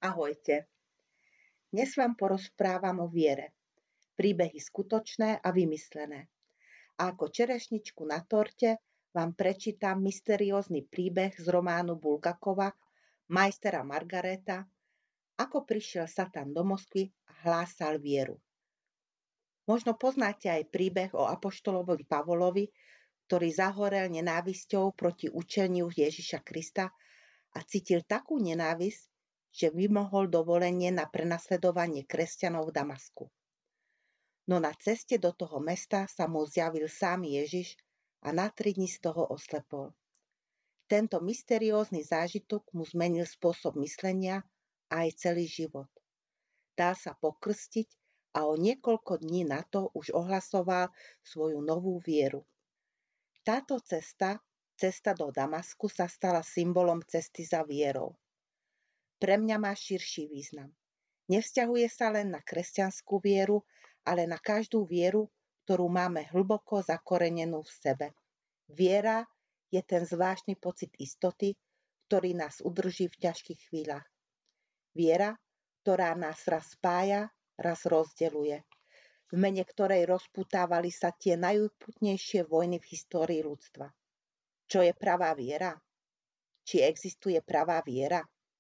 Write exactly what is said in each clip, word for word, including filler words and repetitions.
Ahojte. Dnes vám porozprávam o viere. Príbehy skutočné a vymyslené. A ako čerešničku na torte vám prečítam mysteriózny príbeh z románu Bulgakova Majstera Margareta, ako prišiel Satan do Moskvy a hlásal vieru. Možno poznáte aj príbeh o apoštolovi Pavolovi, ktorý zahorel nenávisťou proti učeniu Ježiša Krista a cítil takú nenávisť, že vymohol dovolenie na prenasledovanie kresťanov v Damasku. No na ceste do toho mesta sa mu zjavil sám Ježiš a na tri dni z toho oslepol. Tento mysteriózny zážitok mu zmenil spôsob myslenia a aj celý život. Dal sa pokrstiť a o niekoľko dní na to už ohlasoval svoju novú vieru. Táto cesta, cesta do Damasku, sa stala symbolom cesty za vierou. Pre mňa má širší význam. Nevzťahuje sa len na kresťanskú vieru, ale na každú vieru, ktorú máme hlboko zakorenenú v sebe. Viera je ten zvláštny pocit istoty, ktorý nás udrží v ťažkých chvíľach. Viera, ktorá nás raz spája, raz rozdeľuje. V mene ktorej rozputávali sa tie najúputnejšie vojny v histórii ľudstva. Čo je pravá viera? Či existuje pravá viera?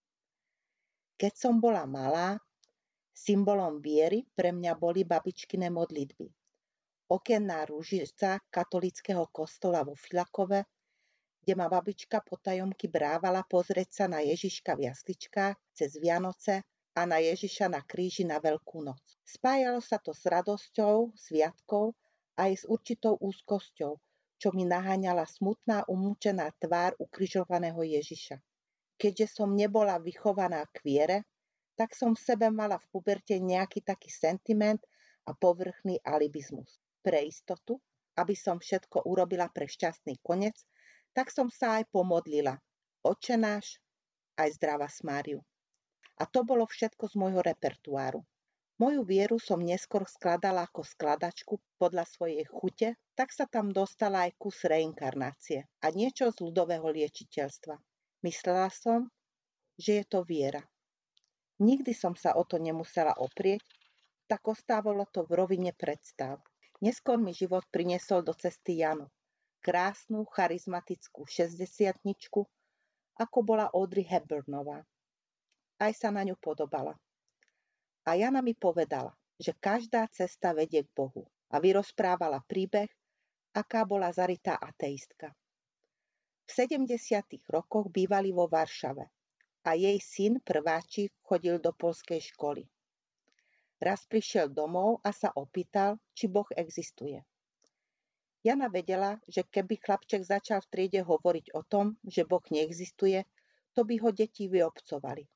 Keď som bola malá, symbolom viery pre mňa boli babičkine modlitby. Okenná ružica katolického kostola vo Filakove, kde ma babička potajomky brávala pozrieť sa na Ježiška v jasličkách cez Vianoce a na Ježiša na kríži na Veľkú noc. Spájalo sa to s radosťou, sviatkou a aj s určitou úzkosťou, čo mi naháňala smutná umúčená tvár ukrižovaného Ježiša. Keďže som nebola vychovaná k viere, tak som v sebe mala v puberte nejaký taký sentiment a povrchný alibizmus. Pre istotu, aby som všetko urobila pre šťastný koniec, tak som sa aj pomodlila. Otče náš, aj zdravás Máriu. A to bolo všetko z môjho repertoáru. Moju vieru som neskôr skladala ako skladačku podľa svojej chute, tak sa tam dostala aj kus reinkarnácie a niečo z ľudového liečiteľstva. Myslela som, že je to viera. Nikdy som sa o to nemusela oprieť, tak ostávalo to v rovine predstav. Neskôr mi život priniesol do cesty Janu, krásnu, charizmatickú šesťdesiatničku, ako bola Audrey Hepburnová. Aj sa na ňu podobala. A Jana mi povedala, že každá cesta vedie k Bohu a vyrozprávala príbeh, aká bola zarytá ateistka. V sedemdesiatych rokoch bývali vo Varšave a jej syn prváčik chodil do poľskej školy. Raz prišiel domov a sa opýtal, či Boh existuje. Jana vedela, že keby chlapček začal v triede hovoriť o tom, že Boh neexistuje, to by ho deti vyobcovali.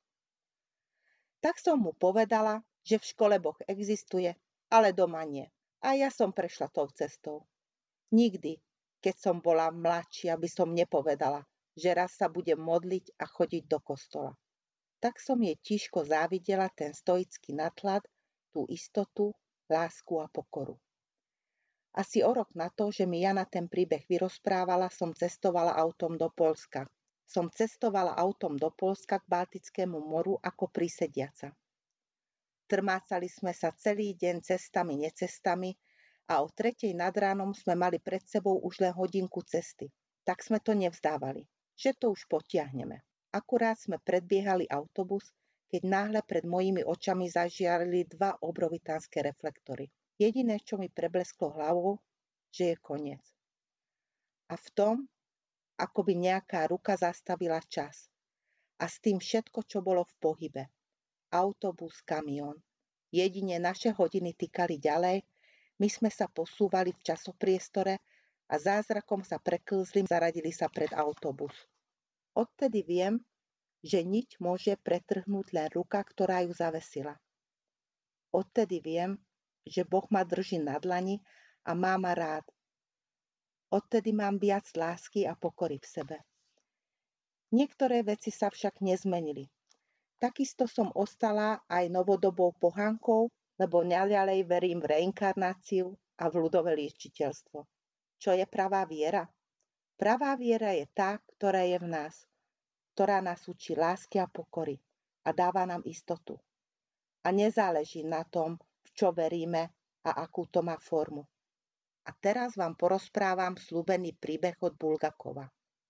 Tak som mu povedala, že v škole Boh existuje, ale doma nie. A ja som prešla tou cestou. Nikdy, keď som bola mladšia, by som nepovedala, že raz sa budem modliť a chodiť do kostola. Tak som jej tížko závidela ten stoický nadhľad, tú istotu, lásku a pokoru. Asi o rok na to, že mi Jana ten príbeh vyrozprávala, som cestovala autom do Poľska. Som cestovala autom do Poľska k Baltickému moru ako prísediaca. Trmácali sme sa celý deň cestami, necestami, a o tretej nad ránom sme mali pred sebou už len hodinku cesty. Tak sme to nevzdávali, že to už potiahneme. Akurát sme predbiehali autobus, keď náhle pred mojimi očami zažiarili dva obrovitánske reflektory. Jediné, čo mi preblesklo hlavou, že je koniec. A v tom, ako by nejaká ruka zastavila čas. A s tým všetko, čo bolo v pohybe. Autobus, kamión. Jedine naše hodiny tykali ďalej, my sme sa posúvali v časopriestore a zázrakom sa preklzli, zaradili sa pred autobus. Odtedy viem, že niť môže pretrhnúť len ruka, ktorá ju zavesila. Odtedy viem, že Boh ma drží na dlani a má ma rád. Odtedy mám viac lásky a pokory v sebe. Niektoré veci sa však nezmenili. Takisto som ostala aj novodobou pohánkou, lebo naďalej verím v reinkarnáciu a v ľudové liečiteľstvo. Čo je pravá viera? Pravá viera je tá, ktorá je v nás, ktorá nás učí lásky a pokory. A a dáva nám istotu. A nezáleží na tom, v čo veríme a akú to má formu. A teraz vám porozprávam sľúbený príbeh od Bulgakova.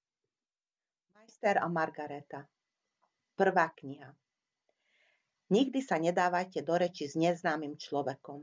Majster a Margareta. Prvá kniha. Nikdy sa nedávajte do reči s neznámym človekom.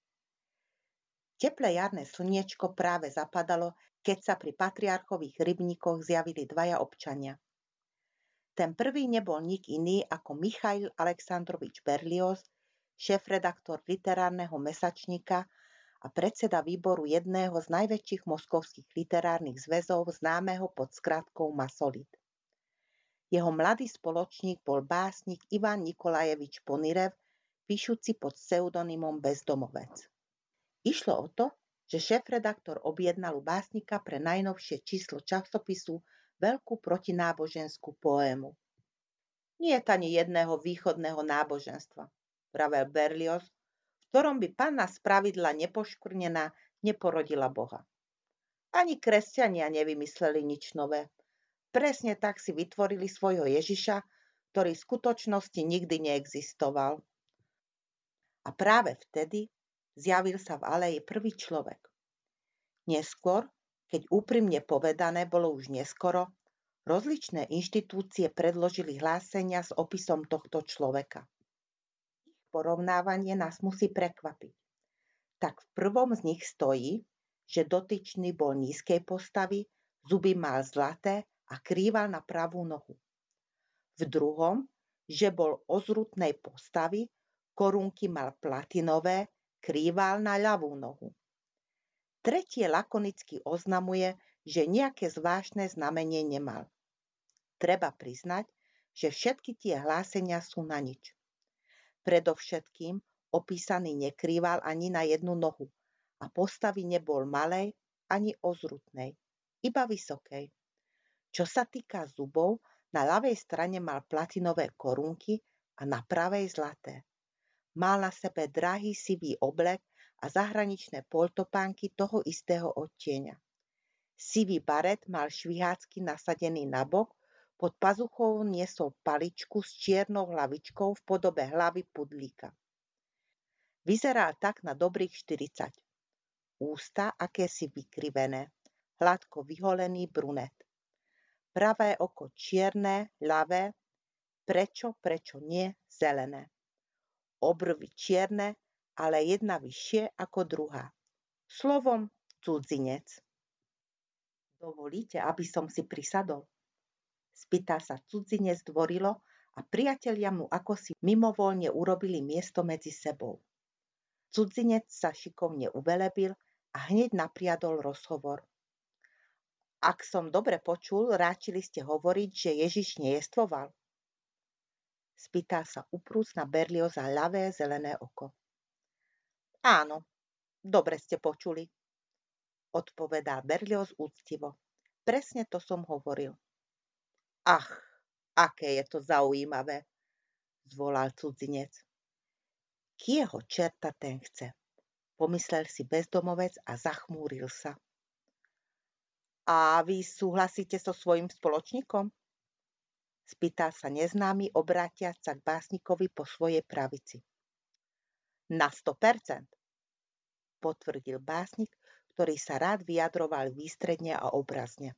Teplé jarné slniečko práve zapadalo, keď sa pri patriarchových rybníkoch zjavili dvaja občania. Ten prvý nebol nik iný ako Michail Aleksandrovič Berlioz, šéfredaktor literárneho mesačníka a predseda výboru jedného z najväčších moskovských literárnych zväzov známeho pod skratkou Masolit. Jeho mladý spoločník bol básnik Ivan Nikolajevič Ponirev, píšuci pod pseudonymom Bezdomovec. Išlo o to, že šéfredaktor objednal u básnika pre najnovšie číslo časopisu veľkú protináboženskú poému. Nie je ani jedného východného náboženstva, vravel Berlioz, v ktorom by panna spravidla nepoškvrnená neporodila Boha. Ani kresťania nevymysleli nič nové. Presne tak si vytvorili svojho Ježiša, ktorý v skutočnosti nikdy neexistoval. A práve vtedy zjavil sa v aleji prvý človek. Neskôr, keď úprimne povedané bolo už neskoro, rozličné inštitúcie predložili hlásenia s opisom tohto človeka. Ich porovnávanie nás musí prekvapiť. Tak v prvom z nich stojí, že dotyčný bol nízkej postavy, zuby mal zlaté a krýval na pravú nohu. V druhom, že bol ozrutnej postavy, korunky mal platinové, krýval na ľavú nohu. Tretie lakonicky oznamuje, že nejaké zvláštne znamenie nemal. Treba priznať, že všetky tie hlásenia sú na nič. Predovšetkým opísaný nekrýval ani na jednu nohu a postavy nebol malej ani ozrutnej, iba vysokej. Čo sa týka zubov, na ľavej strane mal platinové korunky a na pravej zlaté. Mal na sebe drahý sivý oblek a zahraničné poltopánky toho istého odtieňa. Sivý baret mal švihácky nasadený nabok, pod pazuchou niesol paličku s čiernou hlavičkou v podobe hlavy pudlíka. Vyzeral tak na dobrých štyridsať. Ústa akési vykrivené, hladko vyholený brunet. Pravé oko čierne, ľavé, prečo, prečo nie, zelené. Obrvy čierne, ale jedna vyššie ako druhá. Slovom cudzinec. Dovolíte, aby som si prisadol? Spýtal sa cudzinec dvorilo a priatelia mu akosi mimovoľne urobili miesto medzi sebou. Cudzinec sa šikovne uvelebil a hneď napriadol rozhovor. Ak som dobre počul, ráčili ste hovoriť, že Ježiš nejestvoval. Spýtal sa uprúc na Berlioza ľavé zelené oko. Áno, dobre ste počuli, odpovedal Berlioz úctivo. Presne to som hovoril. Ach, aké je to zaujímavé, zvolal cudzinec. Kieho čerta ten chce, pomyslel si bezdomovec a zachmúril sa. A vy súhlasíte so svojím spoločníkom? Spýtal sa neznámy, obrátiac sa k básnikovi po svojej pravici. Na sto percent, potvrdil básnik, ktorý sa rád vyjadroval výstredne a obrazne.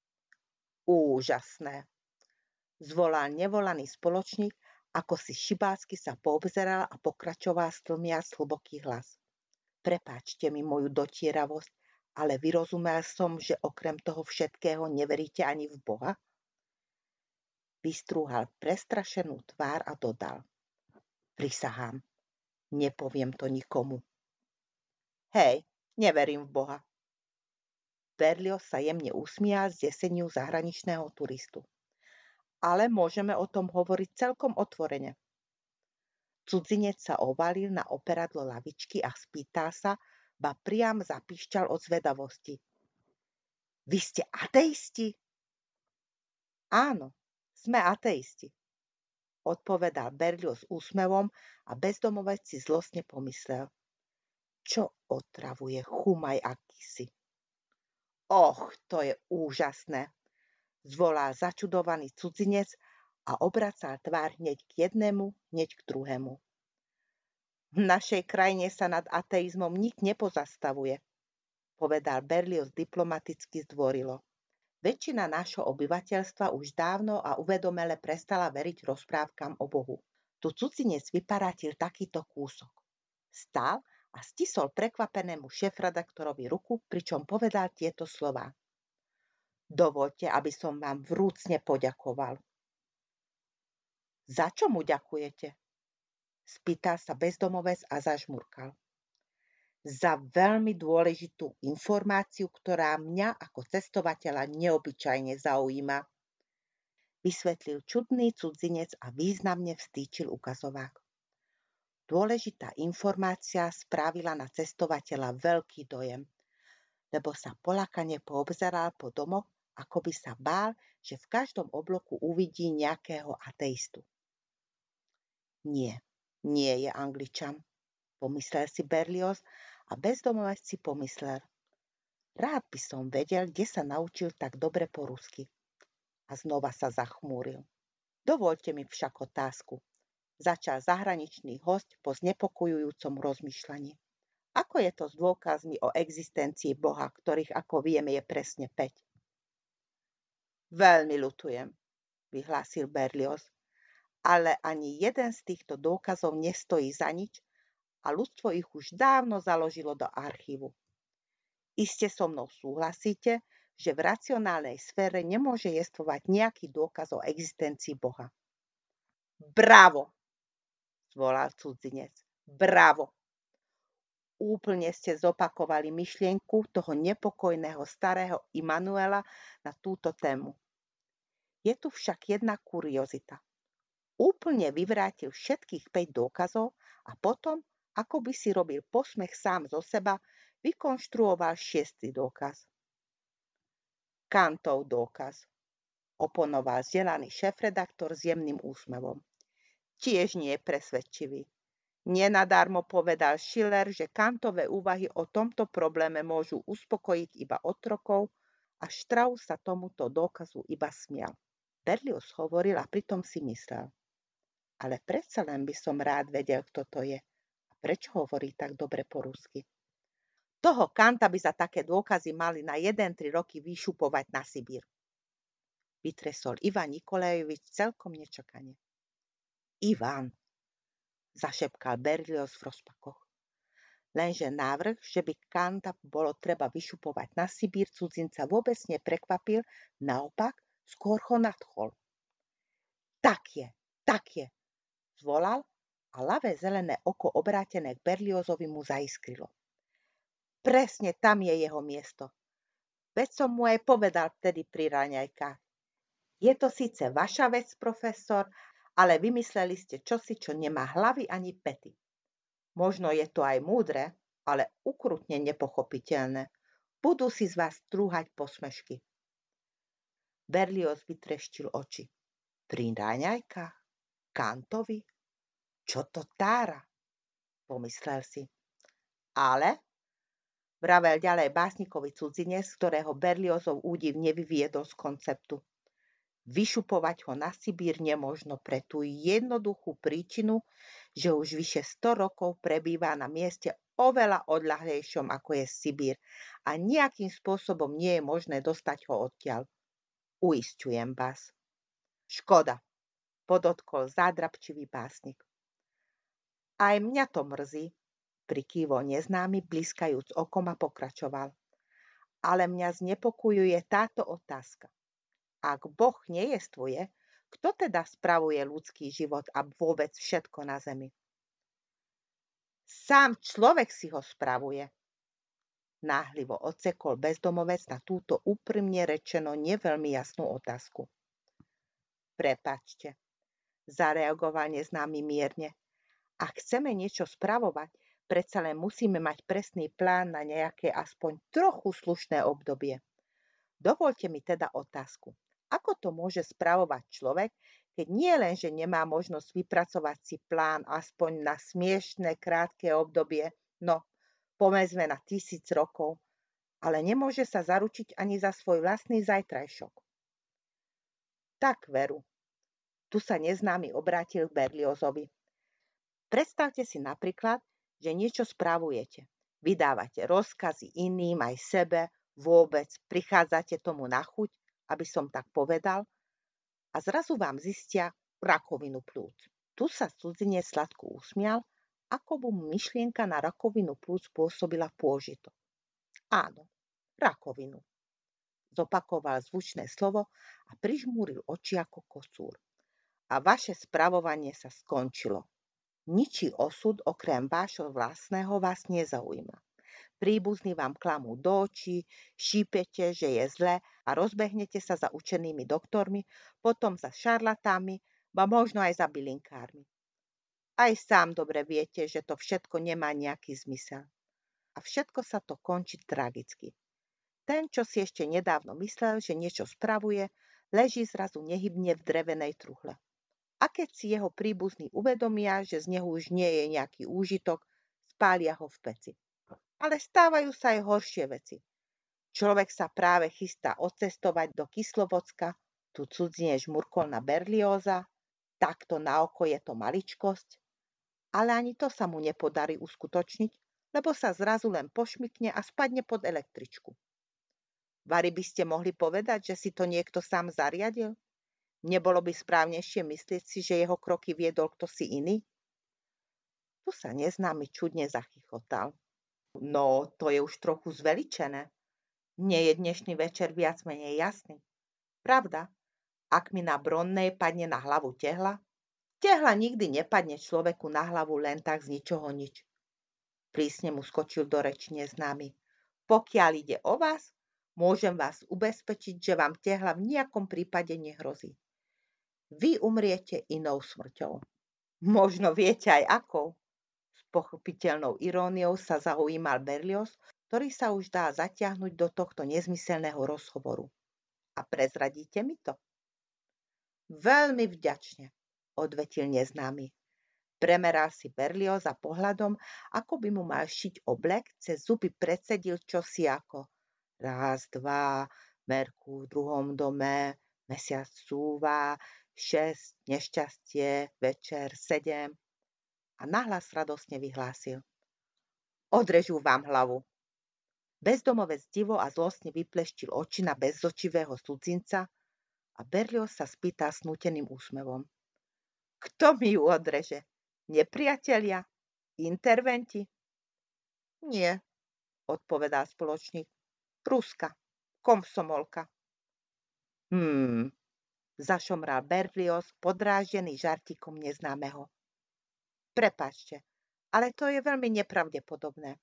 Úžasné, zvolal nevolaný spoločník, ako si šibácky sa poobzeral a pokračoval stlmiac hlboký hlas. Prepáčte mi moju dotieravosť, ale vyrozumel som, že okrem toho všetkého neveríte ani v Boha? Vystrúhal prestrašenú tvár a dodal. Prisahám, nepoviem to nikomu. Hej, neverím v Boha. Berlioz sa jemne usmial z deseniu zahraničného turistu. Ale môžeme o tom hovoriť celkom otvorene. Cudzinec sa ovalil na operadlo lavičky a spýtal sa, ba priam zapíšťal od zvedavosti. Vy ste ateisti? Áno, sme ateisti, odpovedal Berlioz s úsmevom a bezdomovec si zlostne pomyslel. Čo otravuje chumaj akýsi. Och, to je úžasné, zvolal začudovaný cudzinec a obracal tvár hneď k jednému, hneď k druhému. V našej krajine sa nad ateizmom nik nepozastavuje, povedal Berlioz diplomaticky zdvorilo. Väčšina nášho obyvateľstva už dávno a uvedomele prestala veriť rozprávkam o Bohu. Tu cudzinec vyparátil takýto kúsok. Stál a stisol prekvapenému šéfredaktorovi ruku, pričom povedal tieto slová. Dovoľte, aby som vám vrúcne poďakoval. Za čo mu ďakujete? Spýtal sa bezdomovec a zažmurkal. Za veľmi dôležitú informáciu, ktorá mňa ako cestovateľa neobyčajne zaujíma, vysvetlil čudný cudzinec a významne vstýčil ukazovák. Dôležitá informácia spravila na cestovateľa veľký dojem, lebo sa poľakane poobzeral po domoch, ako by sa bál, že v každom obloku uvidí nejakého ateistu. Nie, nie je Angličan, pomyslel si Berlioz a bezdomovec si pomyslel. Rád by som vedel, kde sa naučil tak dobre po rusky. A znova sa zachmúril. Dovoľte mi však otázku. Začal zahraničný hosť po znepokojujúcom rozmýšľaní. Ako je to s dôkazmi o existencii Boha, ktorých, ako vieme, je presne päť? Veľmi ľutujem, vyhlásil Berlioz, ale ani jeden z týchto dôkazov nestojí za nič a ľudstvo ich už dávno založilo do archívu. Iste so mnou súhlasíte, že v racionálnej sfére nemôže jestvovať nejaký dôkaz o existencii Boha. Bravo, zvolal cudzinec. Bravo. Úplne ste zopakovali myšlienku toho nepokojného starého Immanuela na túto tému. Je tu však jedna kuriozita. Úplne vyvrátil všetkých päť dôkazov a potom, ako by si robil posmech sám zo seba, vykonštruoval šiestý dôkaz. Kantov dôkaz, oponoval vzdelaný šéfredaktor s jemným úsmevom. Tiež nie je presvedčivý. Nenadarmo povedal Schiller, že Kantové úvahy o tomto probléme môžu uspokojiť iba otrokov a Strauss sa tomuto dôkazu iba smial. Berlioz hovoril a pritom si myslel. Ale predsa len by som rád vedel, kto to je a prečo hovorí tak dobre po rusky. Toho Kanta by za také dôkazy mali na jeden tri roky vyšupovať na Sibír. Vytresol Ivan Nikolajevič celkom nečakane. Ivan, zašepkal Berlioz v rozpakoch. Lenže návrh, že by Kanta bolo treba vyšupovať na Sibír, cudzinca vôbec neprekvapil, naopak skôr ho nadchol. Tak je, tak je, zvolal a ľavé zelené oko obrátené k Berliozovi mu zaiskrilo. Presne tam je jeho miesto. Veď som mu aj povedal vtedy pri raňajkách. Je to síce vaša vec, profesor, ale vymysleli ste čosi, čo nemá hlavy ani pety. Možno je to aj múdre, ale ukrutne nepochopiteľné. Budú si z vás trúhať posmešky. Berlioz vytreštil oči. Pri raňajkách? Kantovi? Čo to tára? Pomyslel si. Ale, vravel ďalej básnikovi cudzinec, ktorého Berliozov údiv nevyviedol z konceptu. Vyšupovať ho na Sibír nemožno pre tú jednoduchú príčinu, že už vyše sto rokov prebýva na mieste oveľa odľahlejšom, ako je Sibír a nejakým spôsobom nie je možné dostať ho odtiaľ. Uisťujem vás. Škoda, podotkol zádrapčivý básnik. Aj mňa to mrzí, prikývol neznámy, bliskajúc okom a pokračoval. Ale mňa znepokojuje táto otázka. Ak Boh nejestvuje, kto teda spravuje ľudský život a vôbec všetko na zemi? Sám človek si ho spravuje. Náhlivo odsekol bezdomovec na túto úprimne rečeno neveľmi jasnú otázku. Prepačte, zareagoval neznámy mierne. Ak chceme niečo spravovať, predsa len musíme mať presný plán na nejaké aspoň trochu slušné obdobie. Dovoľte mi teda otázku. Ako to môže spravovať človek, keď nie len, že nemá možnosť vypracovať si plán aspoň na smiešné krátke obdobie, no, povedzme na tisíc rokov, ale nemôže sa zaručiť ani za svoj vlastný zajtrajšok. Tak veru, Tu sa neznámy obrátil k Berliozovi. Predstavte si napríklad, že niečo spravujete. Vydávate rozkazy iným aj sebe, vôbec prichádzate tomu na chuť, aby som tak povedal, a zrazu vám zistia rakovinu plúc. Tu sa cudzinec sladko usmial, ako mu myšlienka na rakovinu plúc spôsobila pôžitok. Áno, rakovinu. Zopakoval zvučné slovo a prižmúril oči ako kocúr. A vaše spravovanie sa skončilo. Ničí osud okrem vášho vlastného vás nezaujíma. Príbuzní vám klamú do očí, šípete, že je zle a rozbehnete sa za učenými doktormi, potom za šarlatánmi, ba možno aj za bylinkármi. Aj sám dobre viete, že to všetko nemá nejaký zmysel. A všetko sa to končí tragicky. Ten, čo si ešte nedávno myslel, že niečo spravuje, leží zrazu nehybne v drevenej truhle. A keď si jeho príbuzní uvedomia, že z neho už nie je nejaký úžitok, spália ho v peci. Ale stávajú sa aj horšie veci. Človek sa práve chystá odcestovať do Kyslovodska, tu cudzinec žmurkol na Berlioza, takto na oko je to maličkosť, ale ani to sa mu nepodarí uskutočniť, lebo sa zrazu len pošmykne a spadne pod električku. Vari by ste mohli povedať, že si to niekto sám zariadil? Nebolo by správnejšie myslieť si, že jeho kroky viedol ktosi iný? Tu sa neznámy čudne zachychotal. No, to je už trochu zveličené. Nie je dnešný večer viac menej jasný. Pravda, ak mi na Bronnej padne na hlavu tehla, tehla nikdy nepadne človeku na hlavu len tak z ničoho nič. Prísne mu skočil do reči neznámy. Pokiaľ ide o vás, môžem vás ubezpečiť, že vám tehla v nejakom prípade nehrozí. Vy umriete inou smrťou. Možno viete aj akou. S pochopiteľnou iróniou sa zaujímal Berlioz, ktorý sa už dá zatiahnuť do tohto nezmyselného rozhovoru. A prezradíte mi to? Veľmi vďačne, odvetil neznámy. Premeral si Berlioza pohľadom, ako by mu mal šiť oblek, cez zuby predsedil čosi ako raz, dva, Merkur v druhom dome, mesiac cúva, šesť, nešťastie, večer, sedem a nahlas radosne vyhlásil. Odrežú vám hlavu. Bezdomovec divo a zlostne vypleštil oči na bezočivého cudzinca a Berlioz sa spýtal snúteným úsmevom. Kto mi ju odreže? Nepriatelia? Interventi? Nie, odpovedal spoločník. Ruska, komsomolka. Hmm, zašomral Berlioz, podráždený žartíkom neznámeho. Prepáčte, ale to je veľmi nepravdepodobné.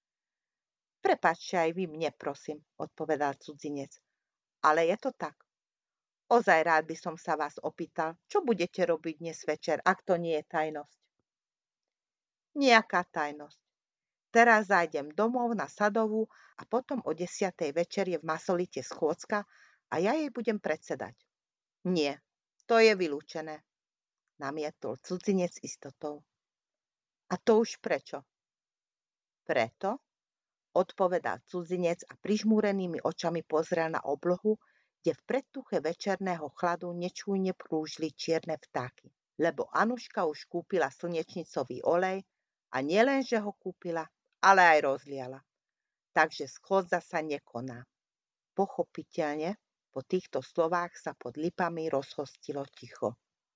Prepáčte aj vy mne, prosím, odpovedal cudzinec. Ale je to tak. Ozaj rád by som sa vás opýtal, čo budete robiť dnes večer, ak to nie je tajnosť. Nejaká tajnosť. Teraz zájdem domov na Sadovú a potom o desiatej večer je v Masolite schôdzka a ja jej budem predsedať. Nie, to je vylúčené, namietol cudzinec istotou. A to už prečo? Preto, odpovedal cudzinec a prižmúrenými očami pozrel na oblohu, kde v predtuche večerného chladu nečújne prúžili čierne vtáky. Lebo Anuška už kúpila slnečnicový olej a nielen, že ho kúpila, ale aj rozliala. Takže schôdza sa nekoná. Pochopiteľne, po týchto slovách sa pod lipami rozhostilo ticho.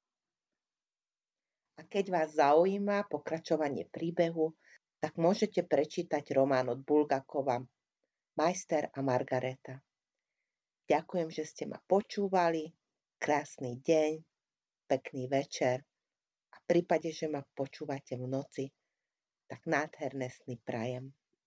A keď vás zaujíma pokračovanie príbehu, tak môžete prečítať román od Bulgakova Majster a Margareta. Ďakujem, že ste ma počúvali. Krásny deň, pekný večer a v prípade, že ma počúvate v noci, tak nádherné sny prajem.